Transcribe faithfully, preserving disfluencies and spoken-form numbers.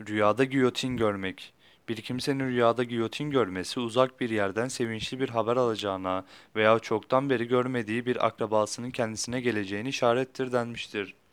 Rüyada giyotin görmek. Bir kimsenin rüyada giyotin görmesi uzak bir yerden sevinçli bir haber alacağına veya çoktan beri görmediği bir akrabasının kendisine geleceğini işarettir denmiştir.